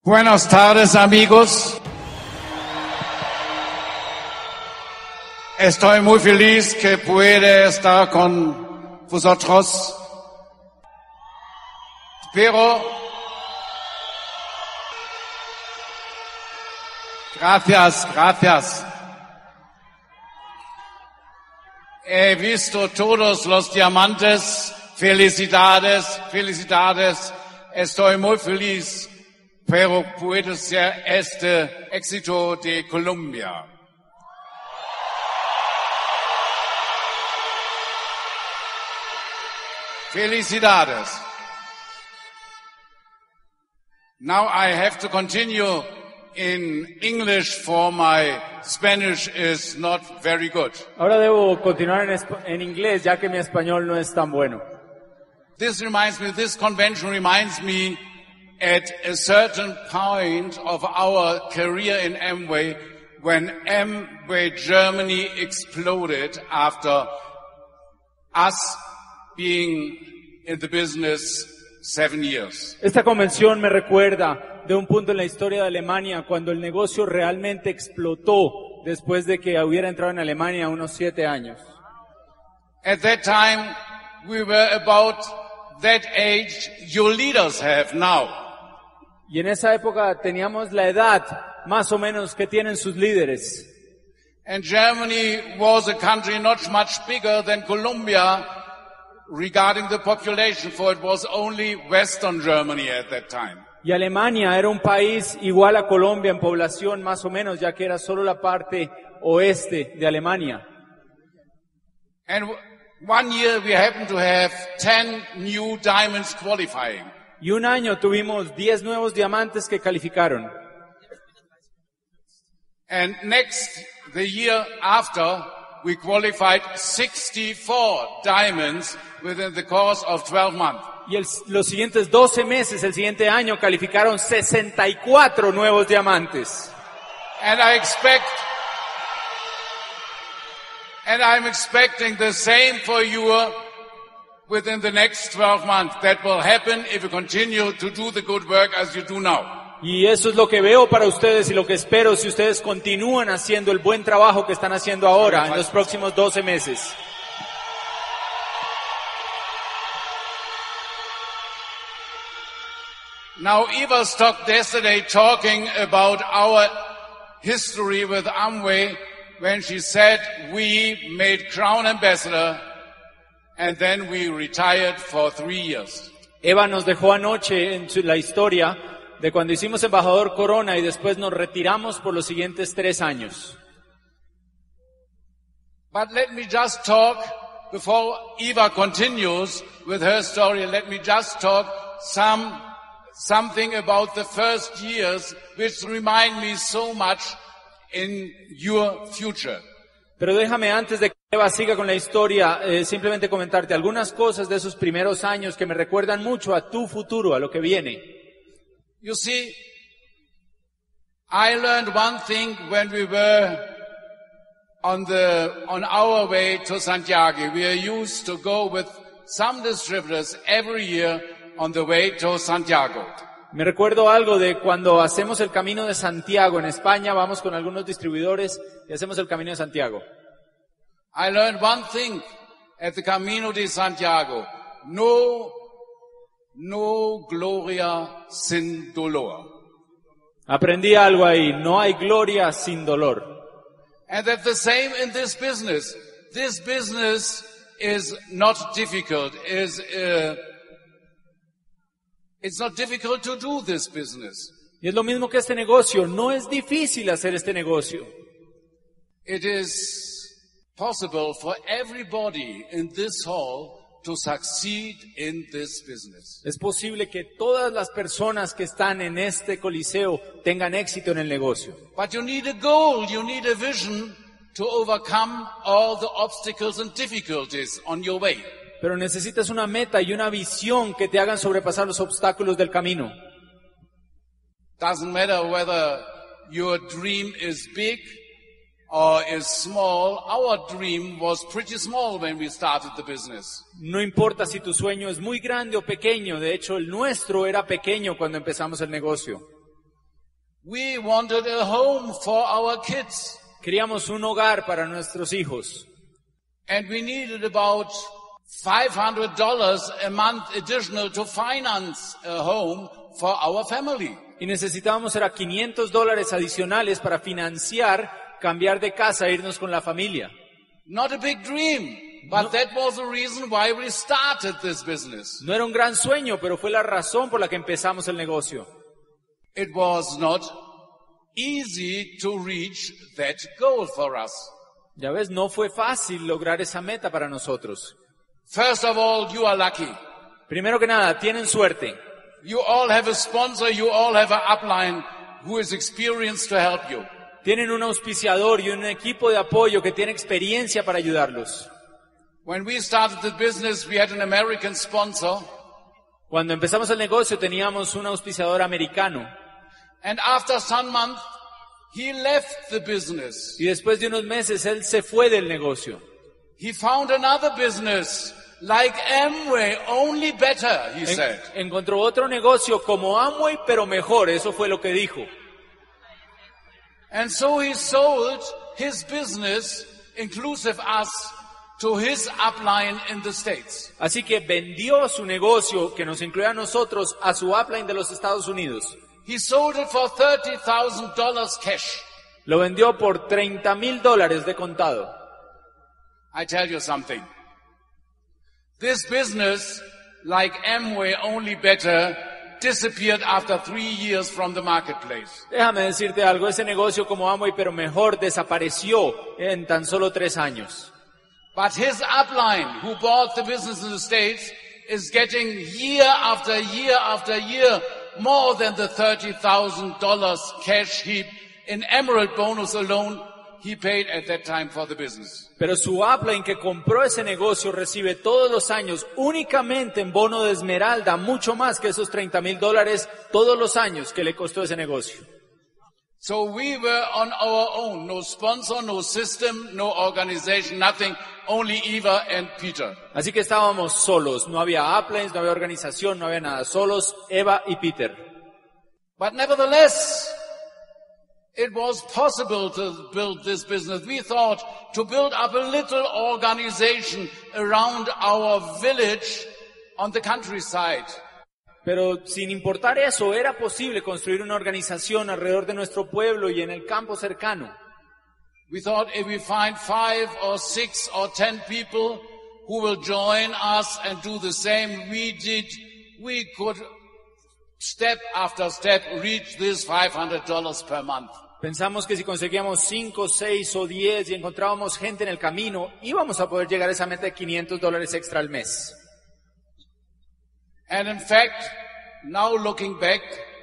Buenas tardes, amigos. Estoy muy feliz que pueda estar con vosotros. Pero gracias. He visto todos los diamantes. Felicidades. Estoy muy feliz. Pero puede ser este éxito de Colombia. Felicidades. Now I have to continue in English for my Spanish is not very good. Ahora debo continuar en inglés ya que mi español no es tan bueno. This convention reminds me at a certain point of our career in Amway, when Amway Germany exploded after us being in the business 7 years. Esta convención me recuerda de un punto en la historia de Alemania cuando el negocio realmente explotó después de que hubiera entrado en Alemania unos 7 años. At that time, we were about that age your leaders have now. Y en esa época teníamos la edad más o menos que tienen sus líderes. And Germany was a country not much bigger than Colombia regarding the population, for it was only Western Germany at that time. Y Alemania era un país igual a Colombia en población más o menos, ya que era solo la parte oeste de Alemania. And one year we happened to have 10 new diamonds qualifying. Y un año tuvimos 10 nuevos diamantes que calificaron. And the year after, we qualified 64 diamonds within the course of 12 months. Y los siguientes 12 meses, el siguiente año, calificaron 64 nuevos diamantes. And I'm expecting the same for you within the next 12 months. That will happen if you continue to do the good work as you do now. Y eso es lo que veo para ustedes y lo que espero si ustedes continúan haciendo el buen trabajo que están haciendo ahora en los próximos 12 meses. Now, Eva stopped yesterday talking about our history with Amway when she said we made Crown Ambassador and then we retired for 3 years. Eva nos dejó anoche en la historia de cuando hicimos embajador Corona y después nos retiramos por los siguientes 3 años. But let me just talk, before Eva continues with her story, let me just talk something about the first years which remind me so much in your future. Pero déjame, antes de que Eva siga con la historia, simplemente comentarte algunas cosas de esos primeros años que me recuerdan mucho a tu futuro, a lo que viene. You see, I learned one thing when we were on our way to Santiago. We are used to go with some distributors every year on the way to Santiago. Me recuerdo algo de cuando hacemos el Camino de Santiago en España, vamos con algunos distribuidores y hacemos el Camino de Santiago. I learned one thing at the Camino de Santiago. No gloria sin dolor. Aprendí algo ahí, no hay gloria sin dolor. And that's the same in this business. This business is not difficult. It's not difficult to do this business. Y es lo mismo que este negocio, no es difícil hacer este negocio. It is possible for everybody in this hall to succeed in this business. Es posible que todas las personas que están en este coliseo tengan éxito en el negocio. But you need a goal, you need a vision to overcome all the obstacles and difficulties on your way. Pero necesitas una meta y una visión que te hagan sobrepasar los obstáculos del camino. Doesn't matter whether your dream is big or is small. Our dream was pretty small when we started the business. No importa si tu sueño es muy grande o pequeño, de hecho el nuestro era pequeño cuando empezamos el negocio. We wanted a home for our kids. Queríamos un hogar para nuestros hijos. And we needed about $500 a month additional to finance a home for our family. Y necesitábamos era $500 adicionales para financiar cambiar de casa e irnos con la familia. Not a big dream, but that was the reason why we started this business. No era un gran sueño, pero fue la razón por la que empezamos el negocio. It was not easy to reach that goal for us. Ya ves, no fue fácil lograr esa meta para nosotros. First of all, you are lucky. Primero que nada, tienen suerte. You all have a sponsor, you all have an upline who is experienced to help you. Tienen un auspiciador y un equipo de apoyo que tiene experiencia para ayudarlos. When we started the business, we had an American sponsor. Cuando empezamos el negocio teníamos un auspiciador americano. And after some months, he left the business. Y después de unos meses él se fue del negocio. He found another business like Amway, only better, he said. Encontró otro negocio como Amway, pero mejor, eso fue lo que dijo. And so he sold his business, inclusive us, to his upline in the States. Así que vendió su negocio, que nos incluye a nosotros, a su upline de los Estados Unidos. He sold it for $30,000 cash. Lo vendió por $30,000 de contado. I tell you something. This business, like Amway, only better, disappeared after 3 years from the marketplace. Déjame decirte algo, ese negocio como Amway, pero mejor, desapareció en tan solo 3 años. But his upline, who bought the business in the States, is getting year after year after year more than the $30,000 cash heap in Emerald bonus alone he paid at that time for the business. Pero su upline que compró ese negocio recibe todos los años únicamente en bono de esmeralda mucho más que esos $30,000 todos los años que le costó ese negocio. So we were on our own, no sponsor, no system, no organization, nothing, only Eva and Peter. Así que estábamos solos, no había uplines, no había organización, no había nada, solos Eva y Peter. But nevertheless, it was possible to build this business. We thought to build up a little organization around our village on the countryside. Pero sin importar eso, era posible construir una organización alrededor de nuestro pueblo y en el campo cercano. We thought if we find 5 or 6 or 10 people who will join us and do the same we could step after step reach this $500 per month. Pensamos que si conseguíamos 5, 6 o 10 y encontrábamos gente en el camino, íbamos a poder llegar a esa meta de $500 extra al mes. And in fact, now looking back,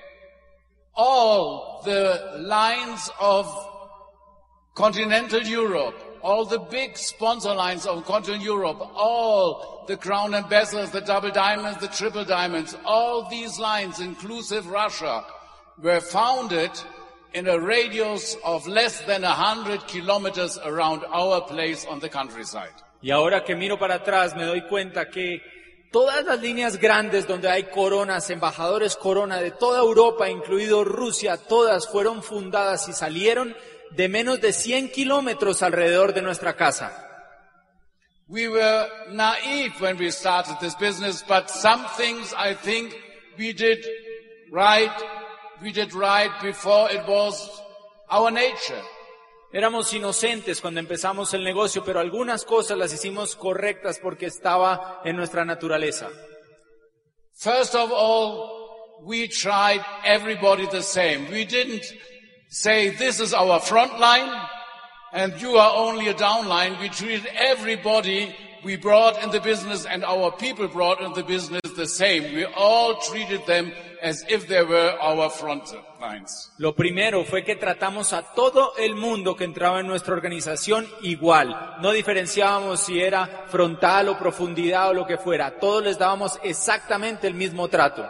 all the lines of continental Europe, all the big sponsor lines of continental Europe, all the Crown Ambassadors, the Double Diamonds, the Triple Diamonds, all these lines, inclusive Russia, were founded in a radius of less than 100 kilometers around our place on the countryside. Y ahora que miro para atrás me doy cuenta que todas las líneas grandes donde hay coronas, embajadores corona de toda Europa, incluido Rusia, todas fueron fundadas y salieron de menos de 100 kilómetros alrededor de nuestra casa. We were naive when we started this business, but some things I think we did right before it was our nature. Éramos inocentes cuando empezamos el negocio, pero algunas cosas las hicimos correctas porque estaba en nuestra naturaleza. First of all, we tried everybody the same. We didn't say this is our front line and you are only a downline. We treated everybody we brought in the business and our people brought in the business the same. We all treated them as if they were our front lines. Lo primero fue que tratamos a todo el mundo que entraba en nuestra organización igual. No diferenciábamos si era frontal o profundidad o lo que fuera. A todos les dábamos exactamente el mismo trato.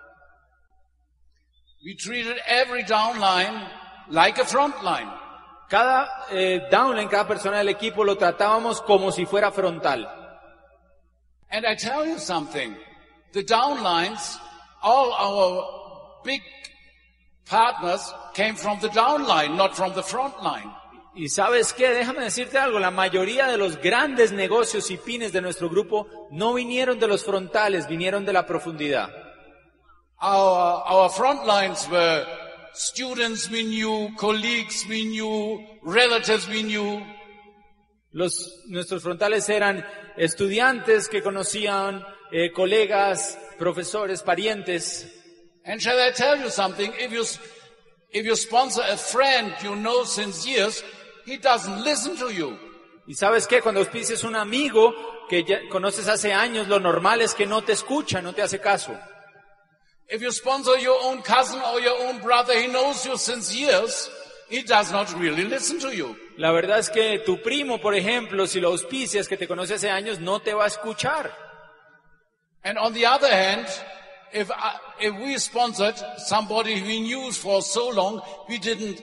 We treated every downline like a front line. Cada downline, cada persona del equipo lo tratábamos como si fuera frontal. And I tell you something, the downlines, all our big partners came from the downline, not from the front line. Y ¿sabes qué? Déjame decirte algo, la mayoría de los grandes negocios y pymes de nuestro grupo no vinieron de los frontales, vinieron de la profundidad. Our front lines were students we knew, colleagues we knew, relatives we knew. Nuestros frontales eran estudiantes que conocían, colegas, profesores, parientes. And shall I tell you something? If you sponsor a friend you know since years, he doesn't listen to you. Y ¿sabes qué? Cuando auspicias un amigo que ya conoces hace años, lo normal es que no te escucha, no te hace caso. If you sponsor your own cousin or your own brother, he knows you since years, he does not really listen to you. La verdad es que tu primo, por ejemplo, si lo auspicias, que te conoce hace años, no te va a escuchar. And on the other hand, if we sponsored somebody we knew for so long, we didn't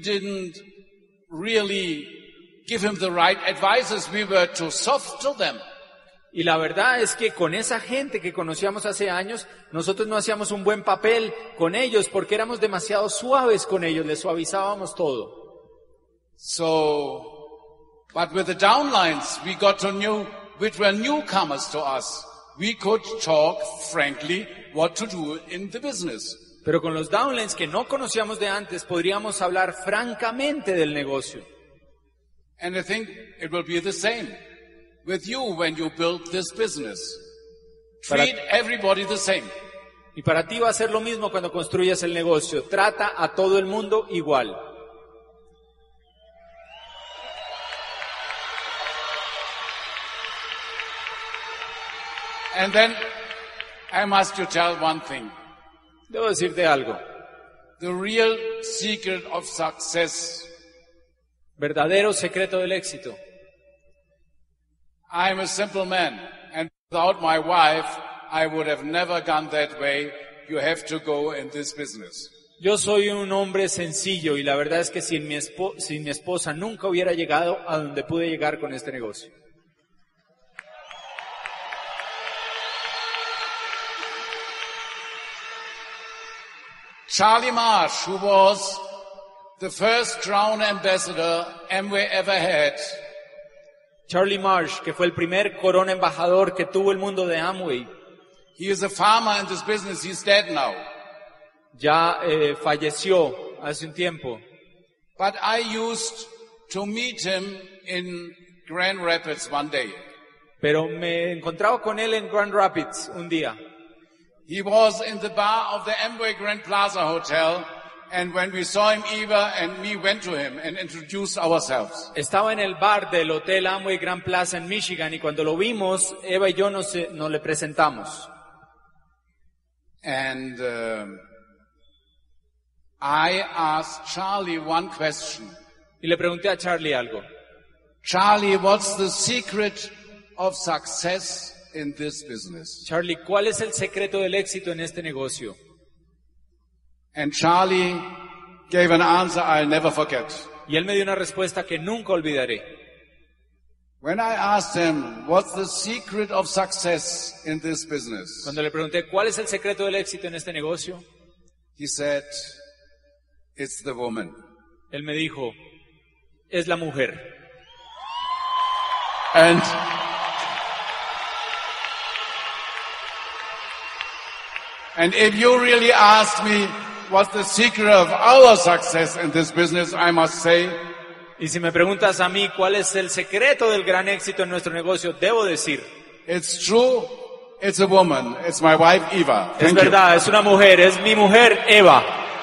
really give him the right advices. We were too soft to them. Y la verdad es que con esa gente que conocíamos hace años, nosotros no hacíamos un buen papel con ellos porque éramos demasiado suaves con ellos, les suavizábamos todo. So, but with the downlines, we got to know which were newcomers to us. We could talk frankly what to do in the business. Pero con los downlines que no conocíamos de antes, podríamos hablar francamente del negocio. And I think it will be the same with you when you build this business. Treat everybody the same. Y para ti va a ser lo mismo cuando construyas el negocio. Trata a todo el mundo igual. And then I must you tell one thing. Debo decirte algo. The real secret of success. Verdadero secreto del éxito. I'm a simple man, and without my wife, I would have never gone that way. You have to go in this business. Yo soy un hombre sencillo y la verdad es que sin mi esposa nunca hubiera llegado a donde pude llegar con este negocio. Charlie Marsh, who was the first Crown ambassador Amway ever had, Charlie Marsh, que fue el primer Corona embajador que tuvo el mundo de Amway, he is a farmer in this business. He's dead now. Ya falleció hace un tiempo. But I used to meet him in Grand Rapids one day. Pero me encontraba con él en Grand Rapids un día. He was in the bar of the Amway Grand Plaza Hotel, and when we saw him, Eva and me went to him and introduced ourselves. Estaba en el bar del Hotel Amway Grand Plaza en Michigan y cuando lo vimos, Eva y yo nos le presentamos. And I asked Charlie one question. Y le pregunté a Charlie algo. Charlie, what's the secret of success in this business? Charlie, ¿cuál es el secreto del éxito en este negocio? And Charlie gave an answer I'll never forget. Y él me dio una respuesta que nunca olvidaré. When I asked him, what's the secret of success in this business? Cuando le pregunté, ¿cuál es el secreto del éxito en este negocio? He said, it's the woman. Él me dijo, es la mujer. And if you really ask me what's the secret of our success in this business, I must say, y si me preguntas a mí cuál es el secreto del gran éxito en nuestro negocio, debo decir, it's true, it's a woman, it's my wife Eva. Es verdad, es una mujer, es mi mujer Eva.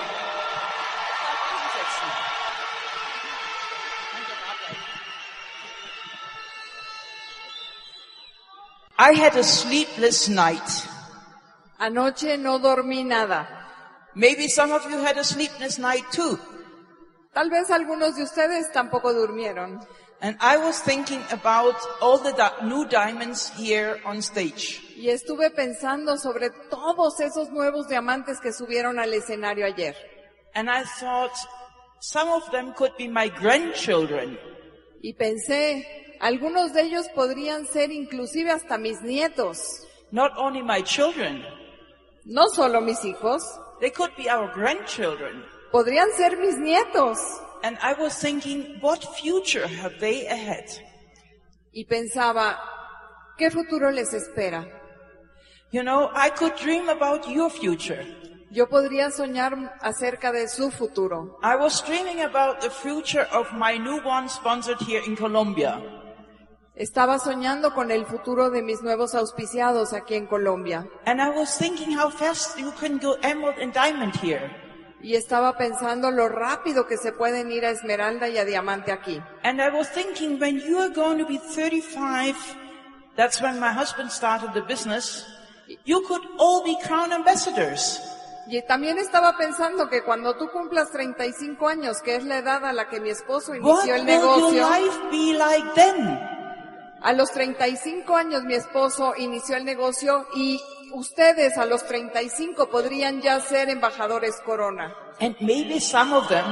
I had a sleepless night. Anoche no dormí nada. Maybe some of you had a sleepless night too. Tal vez algunos de ustedes tampoco durmieron. And I was thinking about all the new diamonds here on stage. Y estuve pensando sobre todos esos nuevos diamantes que subieron al escenario ayer. And I thought some of them could be my grandchildren. Y pensé, algunos de ellos podrían ser inclusive hasta mis nietos. Not only my children. No solo mis hijos. They could be our grandchildren. podrían ser mis nietos. And I was thinking, what future have they ahead? Y pensaba, ¿qué futuro les espera? You know, I could dream about your future. Yo podría soñar acerca de su futuro. I was dreaming about the future of my newborn sponsored here in Colombia. Estaba soñando con el futuro de mis nuevos auspiciados aquí en Colombia. And I was thinking how fast you can go emerald and diamond here. Y estaba pensando lo rápido que se pueden ir a Esmeralda y a Diamante aquí. And I was thinking, when you are going to be 35, that's when my husband started the business, you could all be crown ambassadors. Y también estaba pensando que cuando tú cumplas 35 años, que es la edad a la que mi esposo What inició el will your negocio, life be like then? a los 35 años mi esposo inició el negocio y ustedes a los 35 podrían ya ser embajadores Corona. And maybe some of them,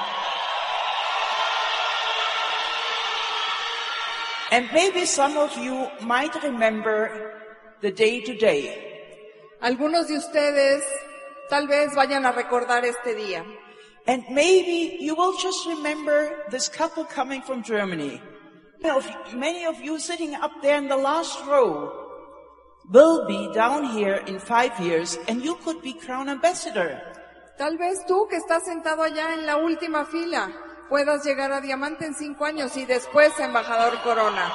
you might remember the day to day. Algunos de ustedes tal vez vayan a recordar este día. And maybe you will just remember this couple coming from Germany. Many of you sitting up there in the last row will be down here in 5 years and you could be crown ambassador. Tal vez tú que estás sentado allá en la última fila puedas llegar a Diamante en 5 años y después a embajador Corona.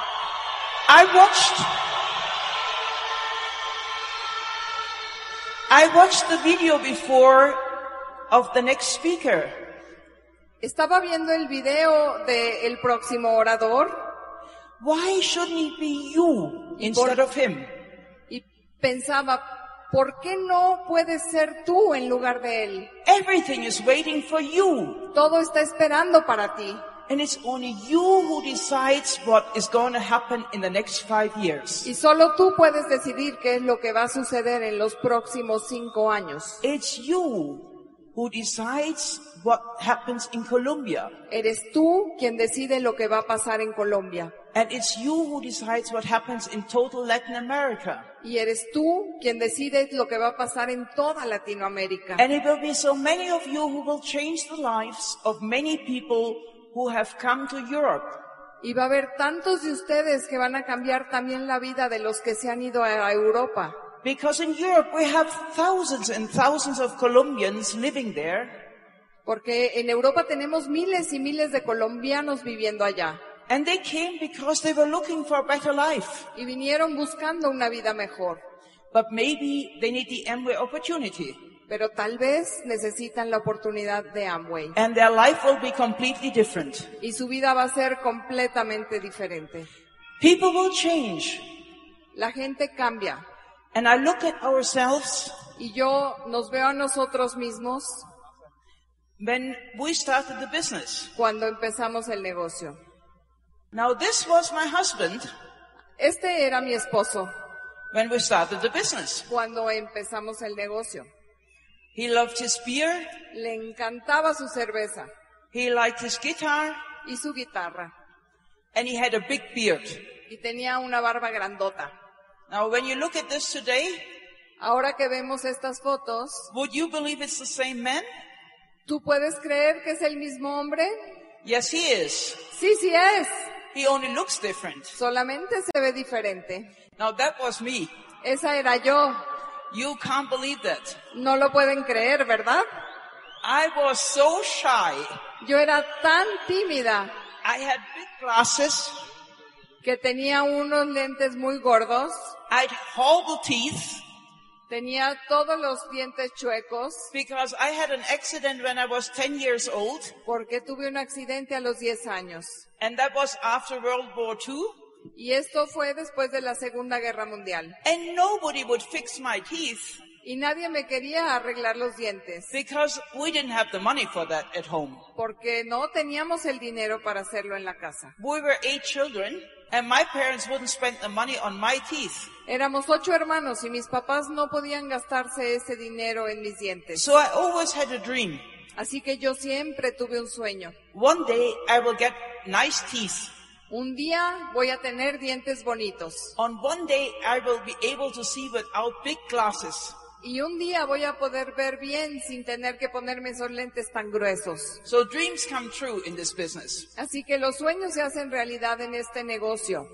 I watched the video before of the next speaker. Estaba viendo el video del próximo orador. Why shouldn't it be you instead of him? Y pensaba, ¿por qué no puedes ser tú en lugar de él? Everything is waiting for you. Todo está esperando para ti. And it's only you who decides what is going to happen in the next 5 years. Y solo tú puedes decidir qué es lo que va a suceder en los próximos 5 años. It's you who decides what happens in Colombia. Eres tú quien decide lo que va a pasar en Colombia. And it's you who decides what happens in total Latin America. Y eres tú quien decide lo que va a pasar en toda Latinoamérica. And it will be so many of you who will change the lives of many people who have come to Europe. Y va a haber tantos de ustedes que van a cambiar también la vida de los que se han ido a Europa. Because in Europe we have thousands and thousands of Colombians living there. Porque en Europa tenemos miles y miles de colombianos viviendo allá. And they came because they were looking for a better life. Y vinieron buscando una vida mejor. But maybe they need the Amway opportunity. Pero tal vez necesitan la oportunidad de Amway. And their life will be completely different. Y su vida va a ser completamente diferente. People will change. La gente cambia. And I look at ourselves. Y yo nos veo a nosotros mismos. When we started the business. Cuando empezamos el negocio. Now this was my husband. Este era mi esposo. When we started the business. Cuando empezamos el negocio. He loved his beer. Le encantaba su cerveza. He liked his guitar. Y su guitarra. And he had a big beard. Y tenía una barba grandota. Now when you look at this today. Ahora que vemos estas fotos. Would you believe it's the same man? ¿Tú puedes creer que es el mismo hombre? Yes, he is. Sí, sí es. He only looks different. Solamente se ve diferente. Now that was me. Esa era yo. You can't believe that. No lo pueden creer, ¿verdad? I was so shy. Yo era tan tímida. I had big glasses. Que tenía unos lentes muy gordos. I had horrible teeth. Tenía todos los dientes chuecos. Because I had an accident when I was 10 years old. Porque tuve un accidente a los 10 años. And that was after World War II. Y esto fue después de la Segunda Guerra Mundial. And nobody would fix my teeth. Y nadie me quería arreglar los dientes. Because we didn't have the money for that at home. Porque no teníamos el dinero para hacerlo en la casa. We were 8 children. And my parents wouldn't spend the money on my teeth. Éramos 8 hermanos y mis papás no podían gastarse ese dinero en mis dientes. So I always had a dream. Así que yo siempre tuve un sueño. One day I will get nice teeth. Un día voy a tener dientes bonitos. On one day I will be able to see without big glasses. Y un día voy a poder ver bien sin tener que ponerme esos lentes tan gruesos. So dreams come true in this business. Así que los sueños se hacen realidad en este negocio.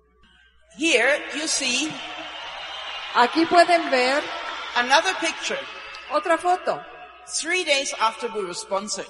Here you see Aquí pueden ver another picture. otra foto, 3 days after we were sponsored.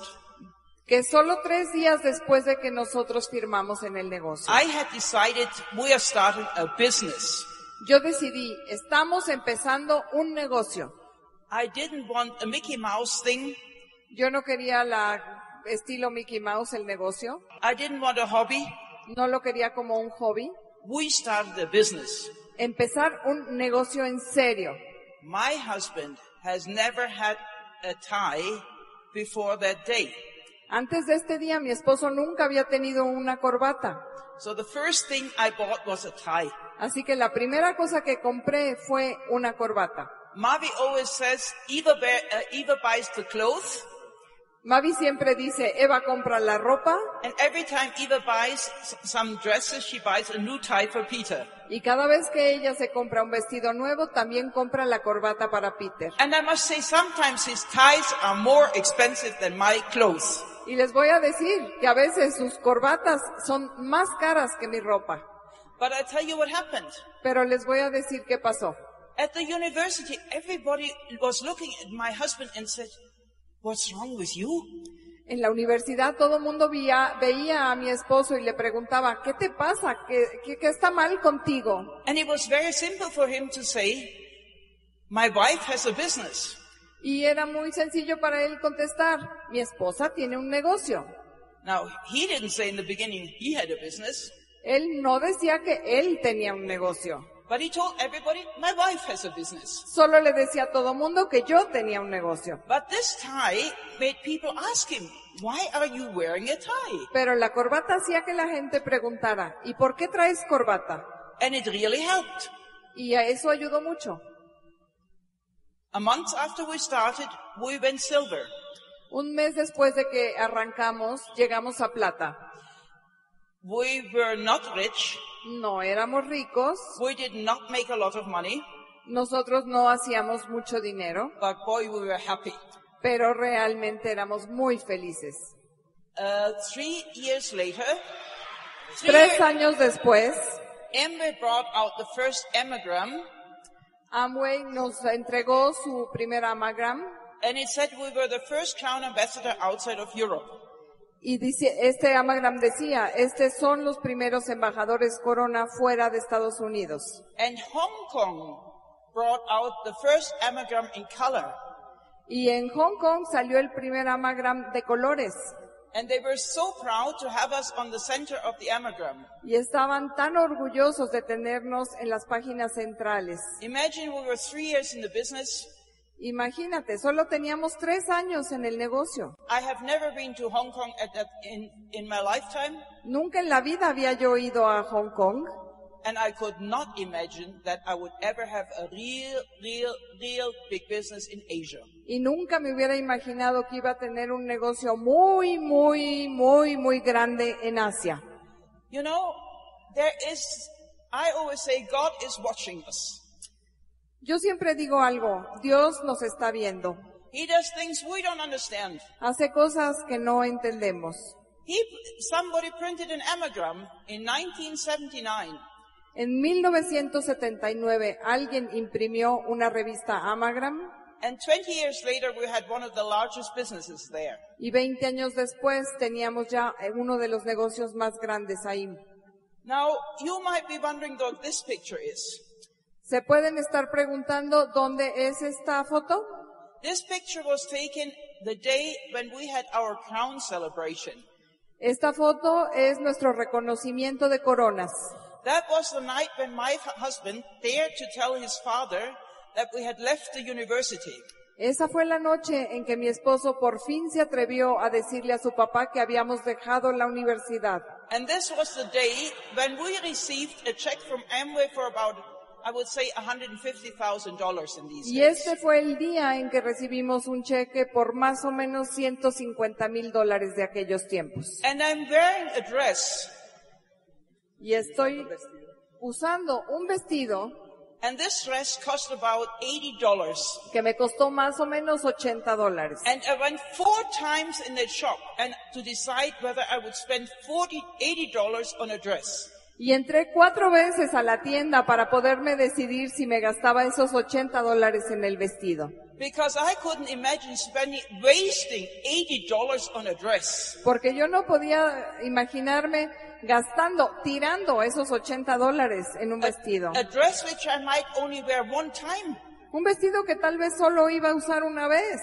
que solo 3 días después de que nosotros firmamos en el negocio. I had decided we are starting a business. Yo decidí, estamos empezando un negocio. I didn't want a Mickey Mouse thing. Yo no quería estilo Mickey Mouse el negocio. I didn't want a hobby. No lo quería como un hobby. We started a business. Empezar un negocio en serio. My husband has never had a tie before that day. Antes de este día, mi esposo nunca había tenido una corbata. So the first thing I bought was a tie. Así que la primera cosa que compré fue una corbata. Mavi always says, Eva buys the clothes, Mavi siempre dice, Eva compra la ropa, and every time Eva buys some dresses, she buys a new tie for Peter. y cada vez que ella se compra un vestido nuevo, también compra la corbata para Peter. And I must say, sometimes his ties are more expensive than my clothes. Y les voy a decir que a veces sus corbatas son más caras que mi ropa. But I tell you what happened. Pero les voy a decir qué pasó. At the university, everybody was looking at my husband and said, "What's wrong with you?" En la universidad todo el mundo veía a mi esposo y le preguntaba, ¿qué te pasa? ¿Qué está mal contigo? And it was very simple for him to say, "My wife has a business." Y era muy sencillo para él contestar, mi esposa tiene un negocio. Now, he didn't say in the beginning he had a business, Él no decía que él tenía un negocio. but he told everybody, "My wife has a business." Solo le decía a todo mundo que yo tenía un negocio. But this tie made people ask him, "Why are you wearing a tie?" Pero la corbata hacía que la gente preguntara, ¿y por qué traes corbata? And it really helped. Y a eso ayudó mucho. A month after we started, we went silver. Un mes después de que arrancamos, llegamos a plata. We were not rich. No éramos ricos, We did not make a lot of money, nosotros no hacíamos mucho dinero, but boy, we were happy. pero realmente éramos muy felices. 3 years later, 3 años después, Amway brought out the first Ammogram, Amway nos entregó su primer Amagram and it said we were the first Crown Ambassador outside of Europe. y dice, este Amagram decía, estos son los primeros embajadores Corona fuera de Estados Unidos. And Hong Kong brought out the first Ammogram in color. Y en Hong Kong salió el primer Amagram de colores. And they were so proud to have us on the center of the Ammogram. Y estaban tan orgullosos de tenernos en las páginas centrales. Imagine we were 3 years in the business. Imagínate, solo teníamos 3 años en el negocio. I have never been to Hong Kong in my lifetime, Nunca en la vida había yo ido a Hong Kong and I could not imagine that I would ever have a real big business in Asia. y nunca me hubiera imaginado que iba a tener un negocio muy grande en Asia. You know, I always say God is watching us. Yo siempre digo algo, Dios nos está viendo. He does things we don't understand. Hace cosas que no entendemos. Somebody printed an Ammogram in 1979. En 1979 alguien imprimió una revista Amagram And 20 years later, we had one of the largest businesses there. y 20 años después teníamos ya uno de los negocios más grandes ahí. Now, you might be wondering what this picture is. ¿Se pueden estar preguntando dónde es esta foto? This picture was taken the day when we had our crown celebration. Esta foto es nuestro reconocimiento de coronas. That was the night when my husband dared to tell his father that we had left the university. Esa fue la noche en que mi esposo por fin se atrevió a decirle a su papá que habíamos dejado la universidad. And this was the day when we received a check from Amway for about, I would say, $150,000 in these Y days. este fue el día en que recibimos un cheque por más o menos $150,000 de aquellos tiempos. And I'm wearing a dress, Y estoy usando un vestido And this dress cost about $80. que me costó más o menos $80. And I went 4 times in that shop and to decide whether I would spend $80 on a dress. Y entré 4 veces a la tienda para poderme decidir si me gastaba esos $80 en el vestido. Because I couldn't imagine wasting $80 on a dress. Porque yo no podía imaginarme tirando esos $80 en un vestido. A dress which I might only wear one time. Un vestido que tal vez solo iba a usar una vez.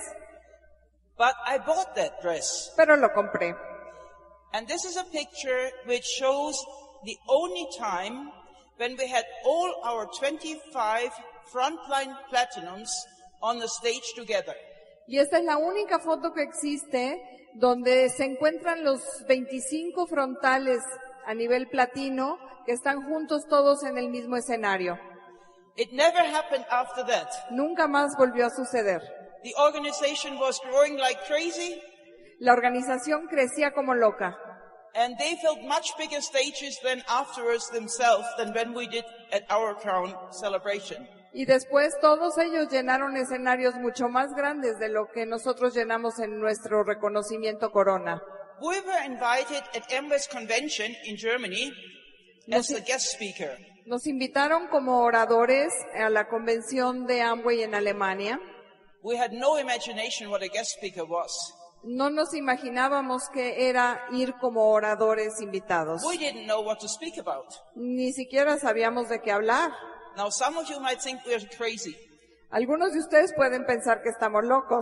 But I bought that dress. Pero lo compré. And this is a picture which shows the only time when we had all our 25 frontline platinums on the stage together. Y esta es la única foto que existe donde se encuentran los 25 frontales a nivel platino que están juntos todos en el mismo escenario. It never happened after that. Nunca más volvió a suceder. The organization was growing like crazy. La organización crecía como loca. And they filled much bigger stages than afterwards themselves than when we did at our crown celebration. Y después todos ellos llenaron escenarios mucho más grandes de lo que nosotros llenamos en nuestro reconocimiento Corona. We were invited at Amway's convention in Germany as the guest speaker. Nos invitaron como oradores a la convención de Amway en Alemania. We had no imagination what a guest speaker was. No nos imaginábamos que era ir como oradores invitados. We didn't know what to speak about. Ni siquiera sabíamos de qué hablar. Now some of you might think we're crazy. Algunos de ustedes pueden pensar que estamos locos.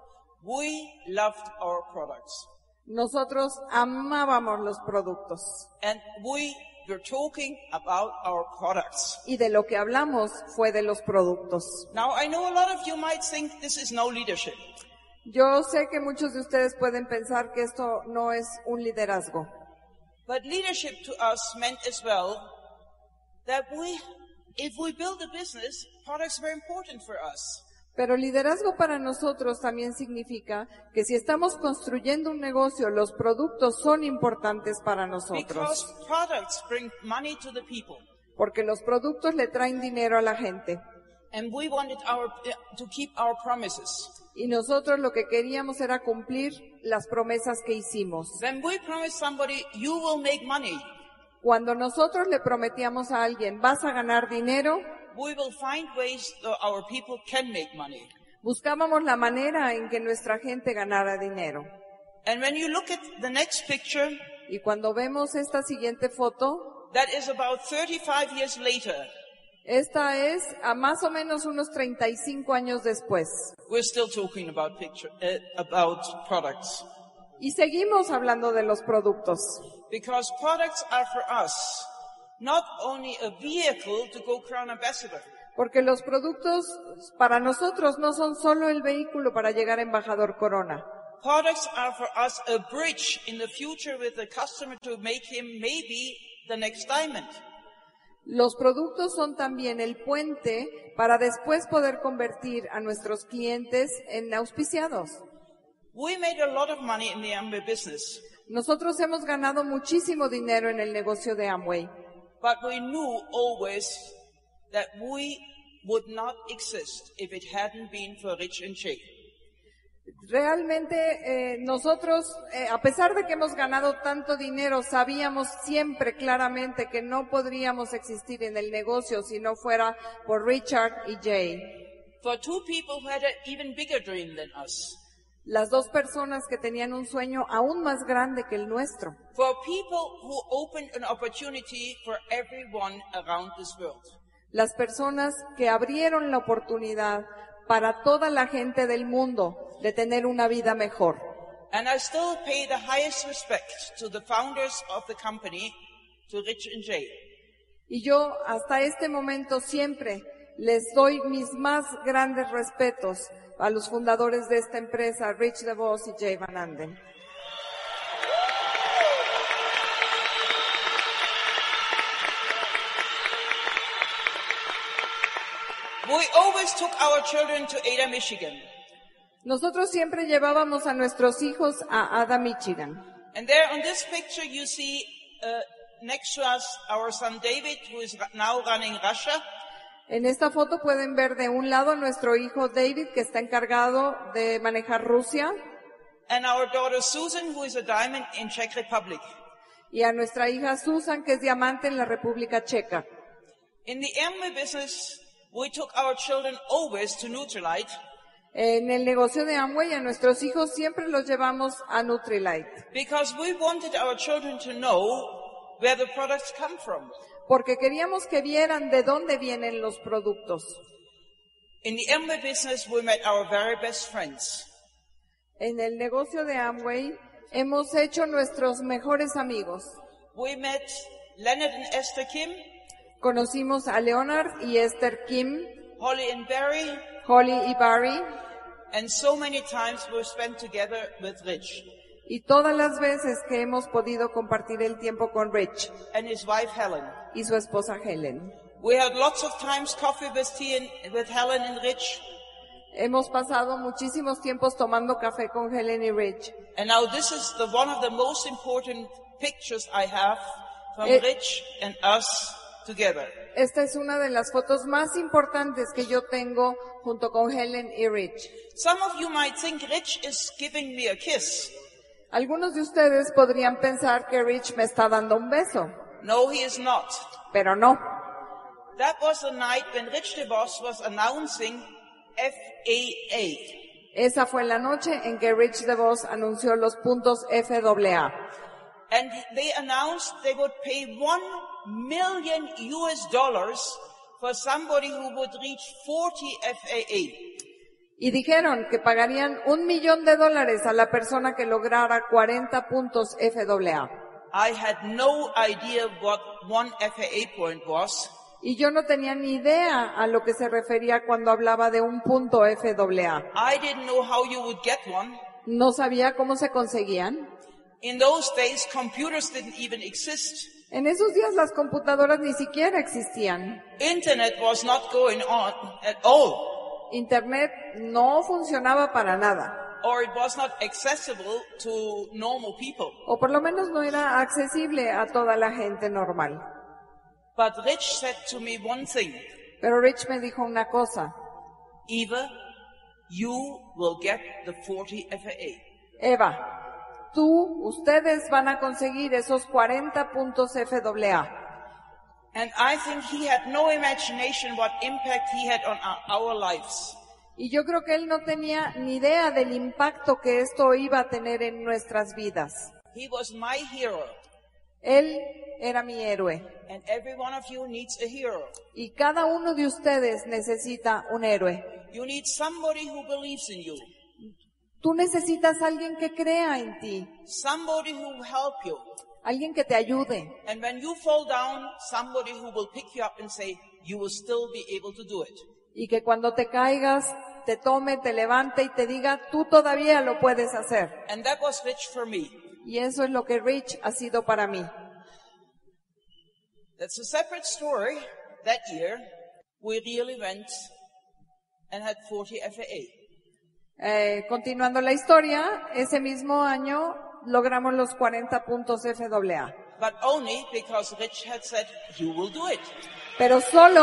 We loved our products. Nosotros amábamos los productos. And we were talking about our products. Y de lo que hablamos fue de los productos. Now I know a lot of you might think this is no leadership. Yo sé que muchos de ustedes pueden pensar que esto no es un liderazgo. But leadership to us meant as well that if we build a business, products are very important for us. Pero liderazgo para nosotros también significa que si estamos construyendo un negocio, los productos son importantes para nosotros. Because products bring money to the people. Porque los productos le traen dinero a la gente. And we wanted to keep our promises. Y nosotros lo que queríamos era cumplir las promesas que hicimos. When we promise somebody, you will make money, Cuando nosotros le prometíamos a alguien, vas a ganar dinero, we will find ways that our people can make money. buscábamos la manera en que nuestra gente ganara dinero. And when you look at the next picture, Y cuando vemos esta siguiente foto, that is about 35 years later. esta es a más o menos unos 35 años después. We're still talking about products. Y seguimos hablando de los productos. Because products are for us not only a vehicle to go crown ambassador. Porque los productos para nosotros no son solo el vehículo para llegar a embajador Corona. Products are for us a bridge in the future with the customer to make him maybe the next diamond. Los productos son también el puente para después poder convertir a nuestros clientes en auspiciados. We made a lot of money in the Amway business, Nosotros hemos ganado muchísimo dinero en el negocio de Amway, but we knew always that we would not exist if it hadn't been for Rich and Jay. Realmente nosotros, a pesar de que hemos ganado tanto dinero, sabíamos siempre claramente que no podríamos existir en el negocio si no fuera por Richard y Jay. For two people who had an even bigger dream than us. Las dos personas que tenían un sueño aún más grande que el nuestro. For people who opened an opportunity for everyone around this world. Las personas que abrieron la oportunidad para toda la gente del mundo de tener una vida mejor. And I still pay the highest respect to the founders of the company, to Rich and Jay. Y yo hasta este momento siempre les doy mis más grandes respetos a los fundadores de esta empresa, Rich DeVos y Jay Van Anden. We always took our children to Ada, Michigan. Nosotros siempre llevábamos a nuestros hijos a Ada, Michigan. And there on this picture you see next to us our son David, who is now running Russia. En esta foto pueden ver de un lado a nuestro hijo David, que está encargado de manejar Rusia, and our daughter Susan, who is a diamond in Czech Republic. y a nuestra hija Susan, que es diamante en la República Checa. In the Amway business, we took our children always to Nutrilite En el negocio de Amway, a nuestros hijos siempre los llevamos a Nutrilite, because we wanted our children to know where the products come from. porque queríamos que vieran de dónde vienen los productos. In the Amway business, we met our very best friends. En el negocio de Amway hemos hecho nuestros mejores amigos. We met Leonard and Esther Kim, Conocimos a Leonard y Esther Kim, Holly and Barry, Holly y Barry, and so many times we spent together with Rich y todas las veces que hemos podido compartir el tiempo con Rich and his wife Helen. y su esposa Helen. We had lots of times coffee with tea and with Helen and Rich. Hemos pasado muchísimos tiempos tomando café con Helen y Rich. And now this is one of the most important pictures I have from Rich and us together. Esta es una de las fotos más importantes que yo tengo junto con Helen y Rich. Some of you might think Rich is giving me a kiss. Algunos de ustedes podrían pensar que Rich me está dando un beso, No, he is not. pero no. That was the night when Rich DeVos was announcing FAA. Esa fue la noche en que Rich DeVos anunció los puntos FAA. And they announced they would pay $1 million for somebody who would reach 40 FAA. Y dijeron que pagarían $1 millón a la persona que lograra 40 puntos FAA. I had no idea what one FAA point was. Y yo no tenía ni idea a lo que se refería cuando hablaba de un punto FAA. I didn't know how you would get one. No sabía cómo se conseguían. In those days, computers didn't even exist. En esos días las computadoras ni siquiera existían. Internet was not going on at all, Internet no funcionaba para nada. or it was not accessible to normal people. O por lo menos no era accesible a toda la gente normal. But Rich said to me one thing, Pero Rich me dijo una cosa. Eva, you will get the 40 FAA. Eva, ustedes van a conseguir esos 40 puntos FAA. And I think he had no imagination what impact he had on our lives. Y yo creo que él no tenía ni idea del impacto que esto iba a tener en nuestras vidas. He was my hero. Él era mi héroe. And every one of you needs a hero. Y cada uno de ustedes necesita un héroe. You need somebody who believes in you. Tú necesitas alguien que crea en ti, Somebody who will help you. alguien que te ayude. And when you fall down, somebody who will pick you up and say, you will still be able to do it. Y que cuando te caigas, te tome, te levante y te diga, tú todavía lo puedes hacer. And that was Rich for me. Y eso es lo que Rich ha sido para mí. That's a separate story. That year, we really went and had 40 FAA. Continuando la historia, ese mismo año logramos los 40 puntos FAA. But only because Rich had said, you will do it. Pero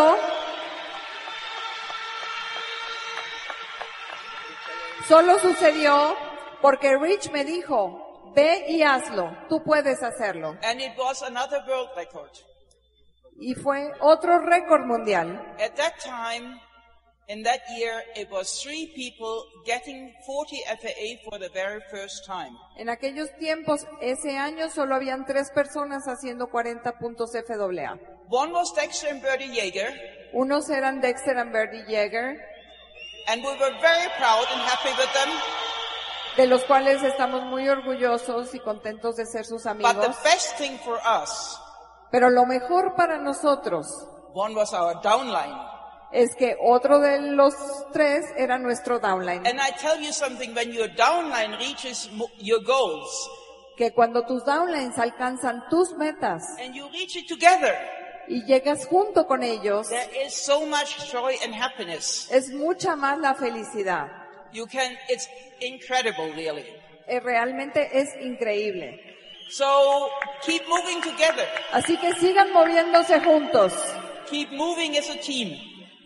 solo sucedió porque Rich me dijo, ve y hazlo, tú puedes hacerlo. And it was another world record. Y fue otro récord mundial. At that time, in that year, it was 3 people getting 40 FAA for the very first time. En aquellos tiempos, ese año, solo habían 3 personas haciendo 40 puntos FAA. One was Dexter and Bertie Yeager, Unos eran Dexter y Bertie Yeager, and we were very proud and happy with them. de los cuales estamos muy orgullosos y contentos de ser sus But amigos. the best thing for us, Pero lo mejor para nosotros one was our downline. es que otro de los 3 era nuestro downline. And I tell you something, when your downline reaches your goals, Que cuando tus downlines alcanzan tus metas and you reach it together, y llegas junto con ellos, there is so much joy and happiness. es mucha más la felicidad. It's incredible, really. Realmente es increíble. So, keep moving together. Así que sigan moviéndose juntos. Keep moving as a team.